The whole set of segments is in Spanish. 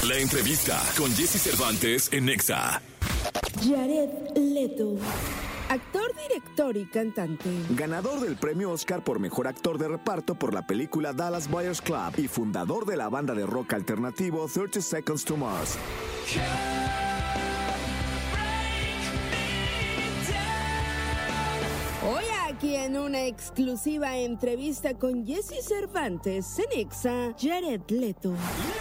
La entrevista con Jesse Cervantes en Nexa. Jared Leto. Actor, director y cantante. Ganador del premio Oscar por Mejor Actor de Reparto por la película Dallas Buyers Club y fundador de la banda de rock alternativo 30 Seconds to Mars. Hoy aquí en una exclusiva entrevista con Jesse Cervantes en Nexa, Jared Leto.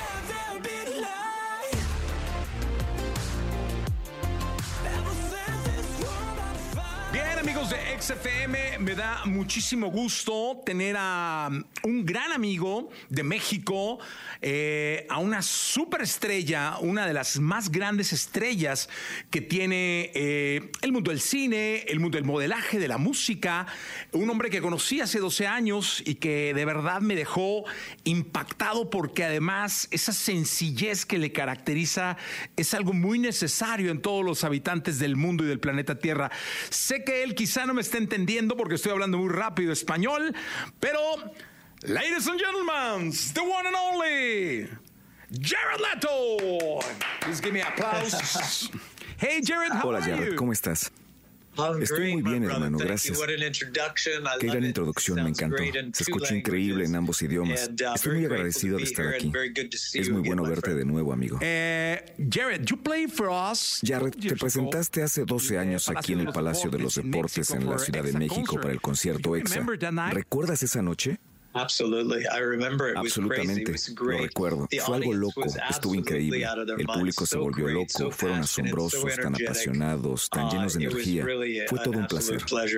Amigos de XFM, me da muchísimo gusto tener a un gran amigo de México, a una superestrella, una de las más grandes estrellas que tiene el mundo del cine, el mundo del modelaje, de la música, un hombre que conocí hace 12 años y que de verdad me dejó impactado porque además esa sencillez que le caracteriza es algo muy necesario en todos los habitantes del mundo y del planeta Tierra. Sé que él quizá no me esté entendiendo porque estoy hablando muy rápido español, pero, ladies and gentlemen, the one and only, Jared Leto. Please give me applause. Hey, Jared, how Hola, are Jared, you? ¿cómo estás? Estoy muy bien, hermano, gracias. Qué gran introducción, me encantó. Se escucha increíble en ambos idiomas. Estoy muy agradecido de estar aquí. Es muy bueno verte de nuevo, amigo. Jared, you played for us. Jared, te presentaste hace 12 años aquí en el Palacio de los Deportes en la Ciudad de México para el concierto EXA. ¿Recuerdas esa noche? Absolutamente, lo recuerdo. Fue algo loco, estuvo increíble. El público se volvió loco, fueron asombrosos, tan apasionados, tan llenos de energía. Fue todo un placer.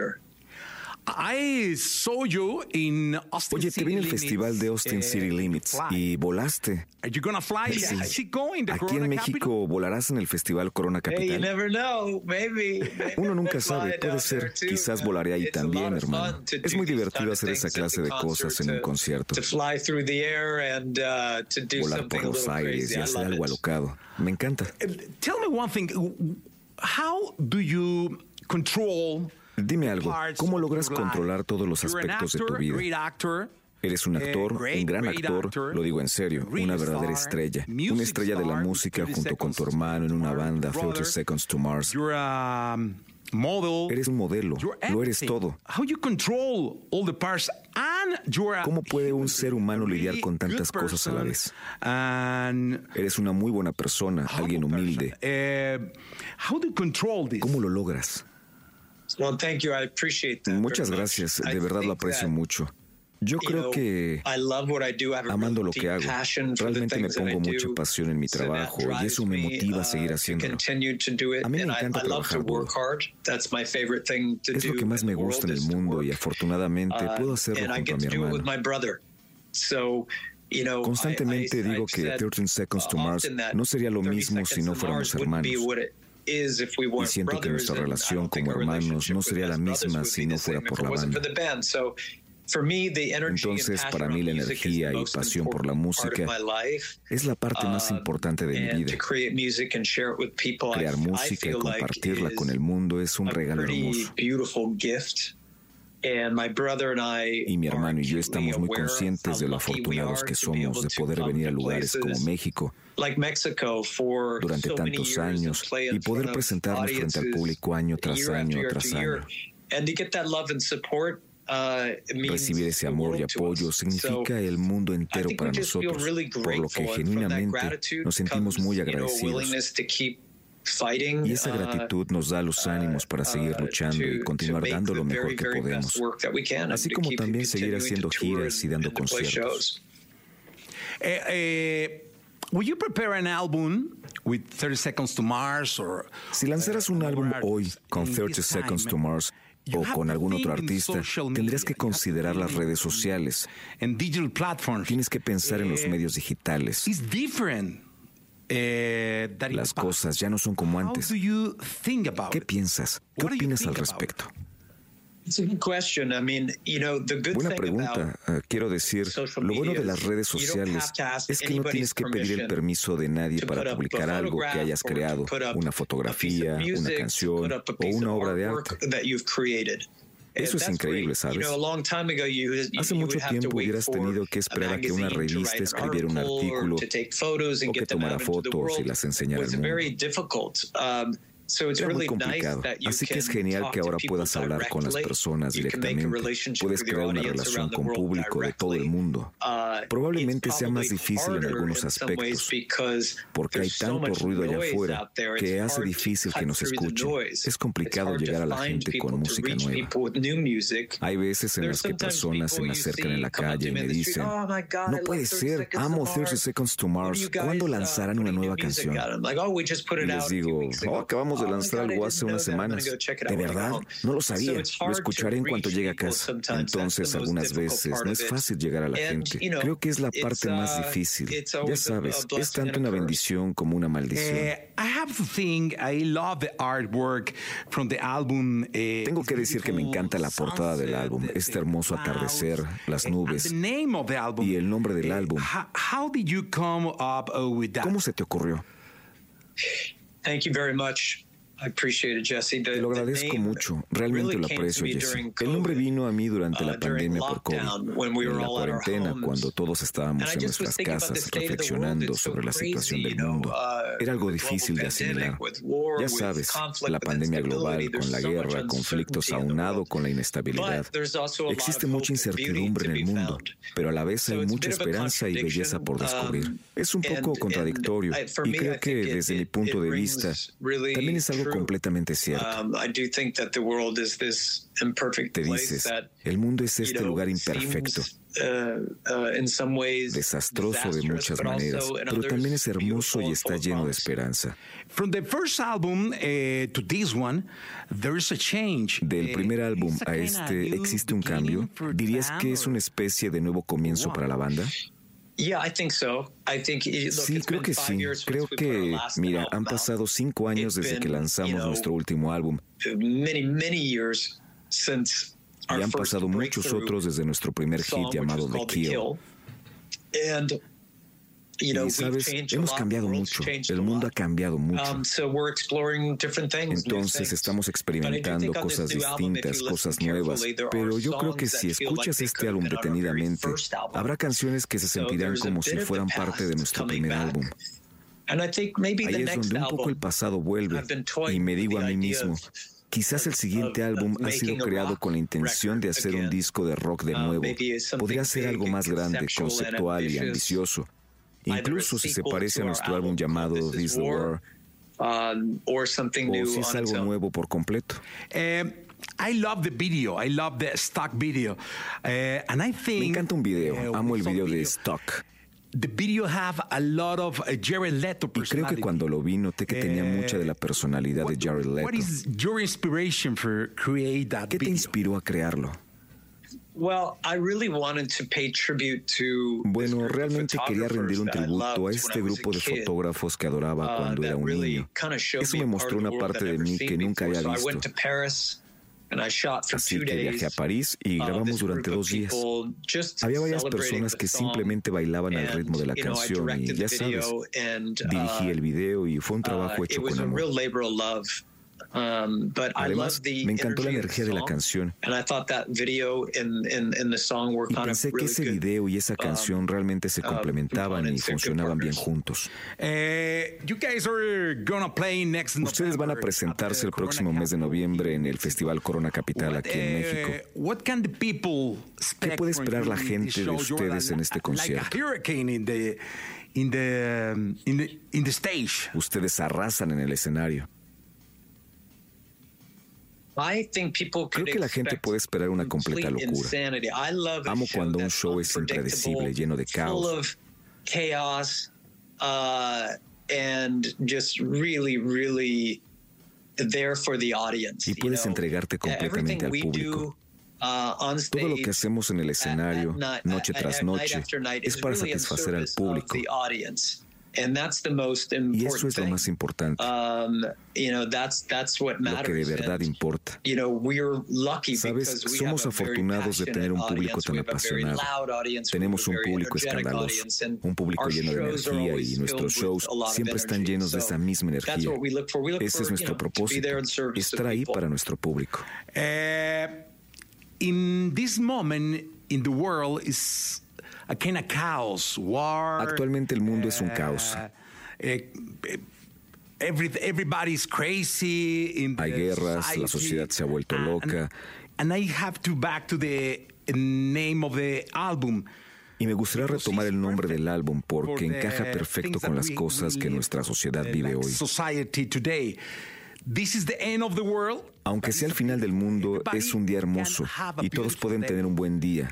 I saw you in Austin Oye, te vi en el City Festival de Austin City Limits y volaste. Are you gonna fly? Sí. Is he going to Aquí Corona en México Capital? volarás en el Festival Corona Capital. Uno nunca sabe, puede ser. Quizás volaré ahí también, hermano. Es muy divertido hacer esa clase de cosas en un concierto. Volar por los aires y hacer algo alocado. Me encanta. Tell me one thing. How do you control? Dime algo, ¿cómo logras controlar todos los aspectos de tu vida? Eres un actor, un gran actor, lo digo en serio, una verdadera estrella. Una estrella de la música junto con tu hermano en una banda, 30 Seconds to Mars. Eres un modelo, lo eres todo. ¿Cómo puede un ser humano lidiar con tantas cosas a la vez? Eres una muy buena persona, alguien humilde. ¿Cómo lo logras? Muchas gracias, de verdad lo aprecio mucho. Yo creo que, amando lo que hago, realmente me pongo mucha pasión en mi trabajo y eso me motiva a seguir haciéndolo. A mí me encanta trabajar duro. Es lo que más me gusta en el mundo y afortunadamente puedo hacerlo junto a mi hermano. Constantemente digo que 13 Seconds to Mars no sería lo mismo si no fuéramos hermanos. Y siento que nuestra relación como hermanos no sería la misma si no fuera por la banda. Entonces, para mí la energía y pasión por la música es la parte más importante de mi vida. Crear música y compartirla con el mundo es un regalo hermoso. Y mi hermano y yo estamos muy conscientes de lo afortunados que somos de poder venir a lugares como México durante tantos años y poder presentarnos frente al público año tras año tras año. Recibir ese amor y apoyo significa el mundo entero para nosotros, por lo que genuinamente nos sentimos muy agradecidos. Y esa gratitud nos da los ánimos para seguir luchando y continuar dando lo mejor que podemos, así como también seguir haciendo giras y dando conciertos. Will you prepare an album with 30 Seconds to Mars or si lanzaras un álbum hoy con 30 Seconds to Mars o con algún otro artista, tendrías que considerar las redes sociales. Tienes que pensar en los medios digitales. Las cosas ya no son como antes. ¿Qué piensas? ¿Qué opinas al respecto? Buena pregunta. Quiero decir, lo bueno de las redes sociales es que no tienes que pedir el permiso de nadie para publicar algo que hayas creado, una fotografía, una canción o una obra de arte. Eso es increíble, ¿sabes? Hace mucho tiempo hubieras tenido que esperar a que una revista escribiera un artículo o que tomara fotos y las enseñara al mundo. Era muy complicado, así que es genial que ahora puedas hablar con las personas directamente. Puedes crear una relación con público de todo el mundo. Probablemente sea más difícil en algunos aspectos, porque hay tanto ruido allá afuera que hace difícil que nos escuchen. Es complicado llegar a la gente con música nueva. Hay veces en las que personas se me acercan en la calle y me dicen, no puede ser, amo 30 Seconds to Mars, ¿cuándo lanzarán una nueva canción? Y les digo, acabamos de lanzar algo hace unas semanas. ¿De verdad? No lo sabía. Lo escucharé en cuanto llegue a casa. Entonces, algunas veces no es fácil llegar a la gente. Creo que es la parte más difícil. Ya sabes, es tanto una bendición como una maldición. Tengo que decir que me encanta la portada del álbum, este hermoso atardecer, las nubes y el nombre del álbum. ¿Cómo se te ocurrió? Thank you very much. I appreciate it, Jesse. Te lo agradezco mucho. Realmente lo aprecio, Jesse. El nombre vino a mí durante la pandemia por COVID, en la cuarentena, cuando todos estábamos en nuestras casas reflexionando sobre la situación del mundo. Era algo difícil de asimilar. Ya sabes, la pandemia global, con la guerra, conflictos aunado con la inestabilidad. Existe mucha incertidumbre en el mundo, pero a la vez hay mucha esperanza y belleza por descubrir. Es un poco contradictorio y creo que desde mi punto de vista también es algo completamente cierto. Te dices, el mundo es este lugar imperfecto, desastroso de muchas maneras, pero también es hermoso y está lleno de esperanza. Del primer álbum a este, ¿existe un cambio? ¿Dirías que es una especie de nuevo comienzo para la banda? Sí, creo que sí. Creo que, mira, han pasado 5 años desde que lanzamos nuestro último álbum. Y han pasado muchos otros desde nuestro primer hit llamado The Kill. Y sabes, hemos cambiado mucho, el mundo ha cambiado mucho. Entonces estamos experimentando cosas distintas, cosas nuevas, pero yo creo que si escuchas este álbum detenidamente, habrá canciones que se sentirán como si fueran parte de nuestro primer álbum. Ahí es donde un poco el pasado vuelve y me digo a mí mismo, quizás el siguiente álbum ha sido creado con la intención de hacer un disco de rock de nuevo. Podría ser algo más grande, conceptual y ambicioso. Incluso si se parece a nuestro álbum llamado This the War, o si es algo nuevo por completo. I love the video. I love the stock video. And I think, me encanta un video. Amo el video de Stock. The video have a lot of Jared Leto personality. Y creo que cuando lo vi noté que tenía mucha de la personalidad de Jared Leto. What is your inspiration for create that ¿Qué te inspiró a crearlo? Bueno, realmente quería rendir un tributo a este grupo de fotógrafos que adoraba cuando era un niño. Eso me mostró una parte de mí que nunca había visto. Así que viajé a París y grabamos durante 2 días. Había varias personas que simplemente bailaban al ritmo de la canción y, ya sabes, dirigí el video y fue un trabajo hecho con amor. Además, me encantó la energía de la canción y pensé que ese video y esa canción realmente se complementaban y funcionaban bien juntos. Ustedes van a presentarse el próximo mes de noviembre en el Festival Corona Capital aquí en México. ¿Qué puede esperar la gente de ustedes en este concierto? Ustedes arrasan en el escenario. Creo que la gente puede esperar una completa locura. Amo cuando un show es impredecible, lleno de caos. Y puedes entregarte completamente al público. Todo lo que hacemos en el escenario, noche tras noche, es para satisfacer al público. Y eso es lo más importante, lo que de verdad importa. Sabes, somos afortunados de tener un público tan apasionado. Tenemos un público escandaloso, un público lleno de energía y nuestros shows siempre están llenos de esa misma energía. Ese es nuestro propósito, estar ahí para nuestro público. in this moment in the world is a kind of chaos, war. Actualmente el mundo es un caos. Everybody's crazy. Hay guerras, la sociedad se ha vuelto loca. And I have to back to the name of the album. Y me gustaría retomar el nombre del álbum porque encaja perfecto con las cosas que nuestra sociedad vive hoy. Aunque sea el final del mundo, es un día hermoso y todos pueden tener un buen día.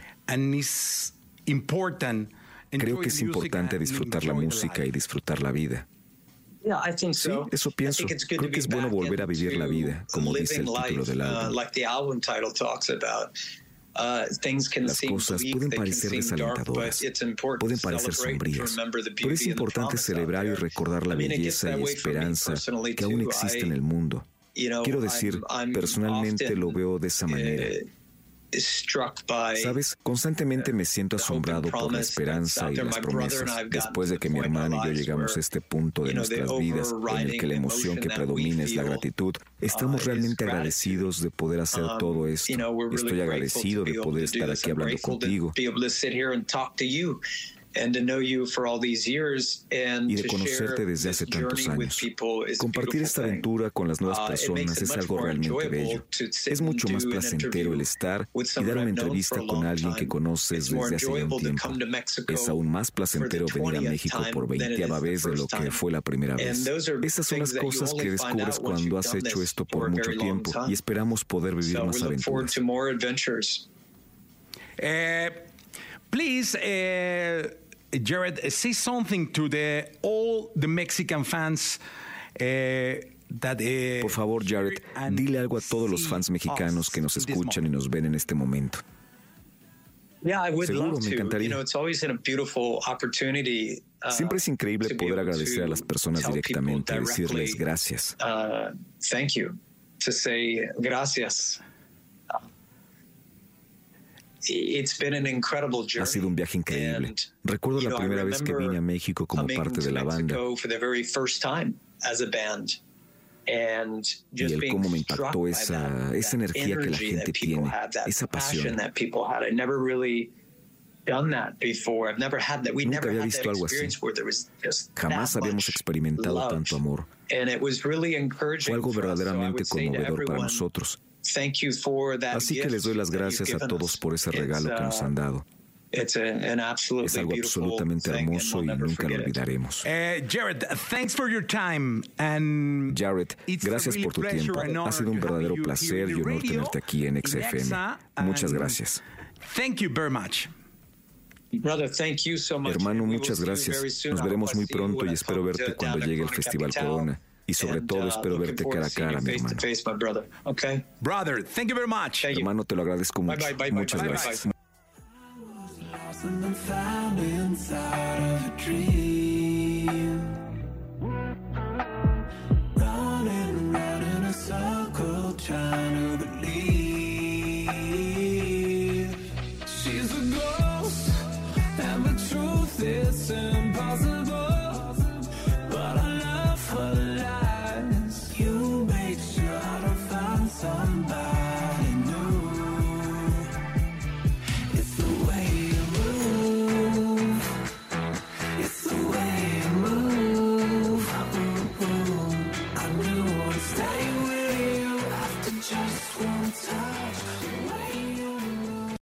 Creo que es importante disfrutar la música y disfrutar la vida. Sí, eso pienso. Creo que es bueno volver a vivir la vida, como dice el título del álbum. Las cosas pueden parecer desalentadoras, pueden parecer sombrías, pero es importante celebrar y recordar la belleza y esperanza que aún existe en el mundo. Quiero decir, personalmente lo veo de esa manera. Sabes, constantemente me siento asombrado por la esperanza y las promesas. Después de que mi hermano y yo llegamos a este punto de nuestras vidas en el que la emoción que predomina es la gratitud, estamos realmente agradecidos de poder hacer todo esto. Estoy agradecido de poder estar aquí hablando contigo y de conocerte desde hace tantos años. Compartir esta aventura con las nuevas personas es algo realmente bello. Es mucho más placentero el estar y dar una entrevista con alguien que conoces desde hace ya un tiempo. Es aún más placentero venir a México por 20ª vez de lo que fue la primera vez. Esas son las cosas que descubres cuando has hecho esto por mucho tiempo y esperamos poder vivir más aventuras. Please, Jared, say something to all the Mexican fans. Por favor, Jared, dile algo a todos los fans mexicanos que nos escuchan y nos ven en este momento. Seguro, me encantaría. Siempre es increíble poder agradecer a las personas directamente, decirles gracias. Thank you, to say gracias. Ha sido un viaje increíble. Recuerdo la primera vez que vine a México como parte de la banda y el cómo me impactó esa energía que la gente tiene, esa pasión. Nunca había visto algo así. Jamás habíamos experimentado tanto amor. Fue algo verdaderamente conmovedor para nosotros. Así que les doy las gracias a todos por ese regalo que nos han dado. Es algo absolutamente hermoso y nunca lo olvidaremos. Jared, thanks for your time. And Jared, gracias por tu tiempo. Ha sido un verdadero placer y honor tenerte aquí en XFM. Muchas gracias. Thank you very much. Hermano, muchas gracias. Nos veremos muy pronto y espero verte cuando llegue el Festival Corona. Y sobre todo espero verte cara a cara, mi hermano. Brother, thank you very much. Hermano, te lo agradezco mucho. Muchas gracias.